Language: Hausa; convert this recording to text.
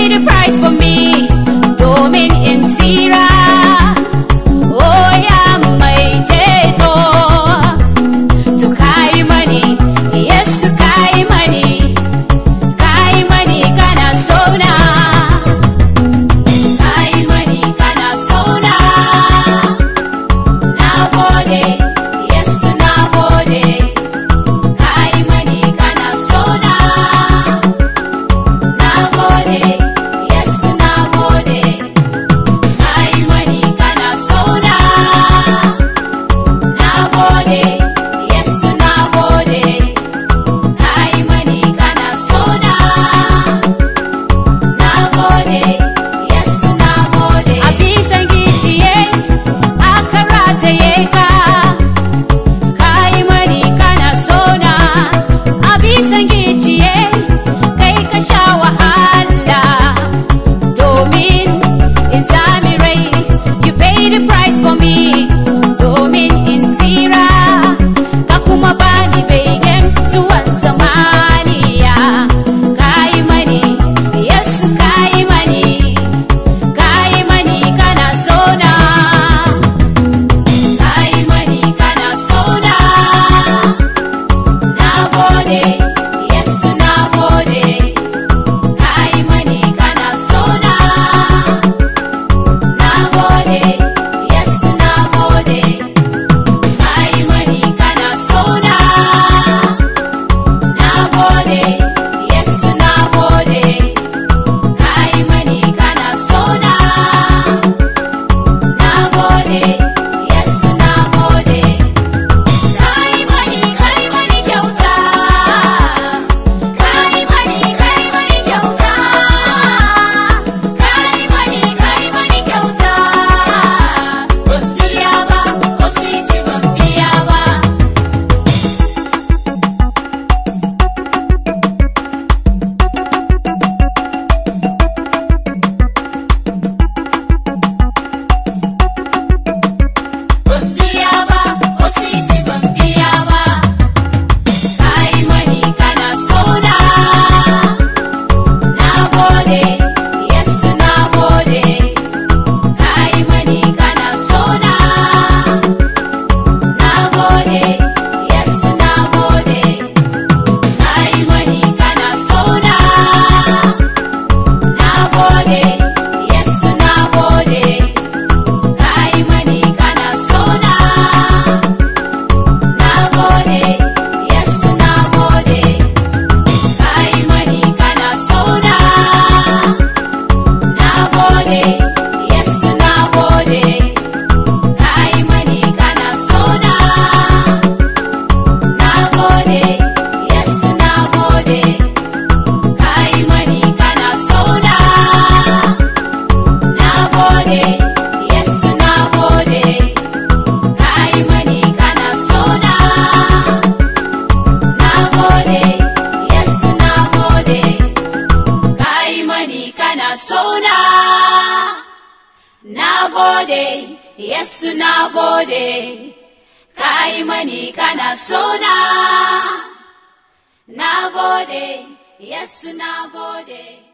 paid the price for me, domin in tsira. Oh ya mai ceto, to kai mani, Yesu kai mani, kana sona, kai mani kana sona. Na gode, Yesu na gode, kai mani kana sona. Na gode, Yesu na gode, kai mani kana sona. Na gode, Yesu na gode, kai mani kana sona. Na gode, Yesu na gode. A bisan giciye aka rataye ka, kai mani kana sona. A bisan giciye kai ka sha wahala, domin in sami rai. You paid the price for me, domin in tsira. Ka kuma bani begen zuwan zamaniya. Kai mani, Yesu kai mani, kana sona. Kai mani kana sona. Na gode, Yesu na gode, kai mani kana sona. Na gode, Yesu na gode, kai mani kana sona. Na gode, Yesu na gode, kai mani kana sona. Na gode, Yesu na gode, kai mani kyauta. Kai mani kyauta. Kai mani kyauta. Ban biya ba, ko sisi ban biya ba. Ban biya ba, ko sisi ban biya ba. Kai mani kana sona. Na gode, Yesu na gode, kai mani kana sona. Na gode, Yesu na gode, kai mani kana sona. Na gode, Yesu na gode, kai mani kana sona. Na gode, Yesu na gode, kai mani kana sona. Na gode, Yesu na gode, kai mani kana sona. Na gode, Yesu na gode, kai mani kana sona. Na gode, Yesu na gode, kai mani kana sona. Na gode, Yesu na gode, kai mani kana sona. Na gode, Yesu na gode, kai mani kana sona. Na gode, Yesu na gode.